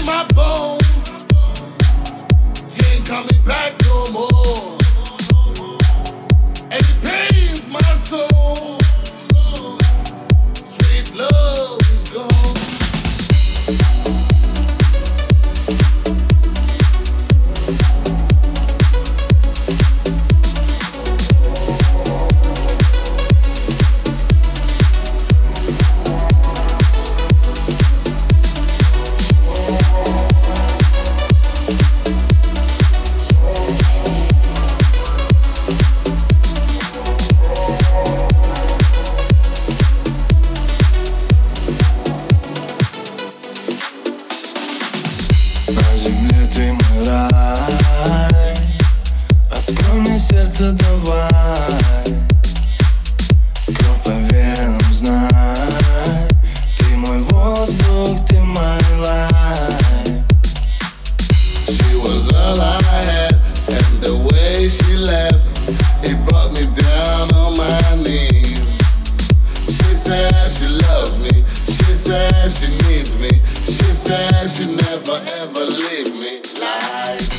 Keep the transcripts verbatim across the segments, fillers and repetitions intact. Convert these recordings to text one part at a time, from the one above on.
my bones. She ain't coming back no more. And it pains my soul. Sweet love is gone. На земле ты мой рай, открой мне сердце, давай. Кровь по венам, знай, ты мой воздух, ты мой life. She was all I had, and the way she left, it brought me down on my knees. She said she loves me, she said she needs me, she said she never ever leave me. Like,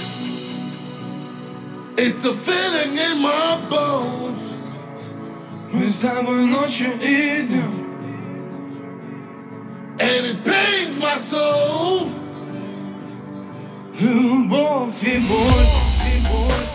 it's a feeling in my bones. Мы с тобой ночью и днем. And it pains my soul. Любовь и боль, и боль.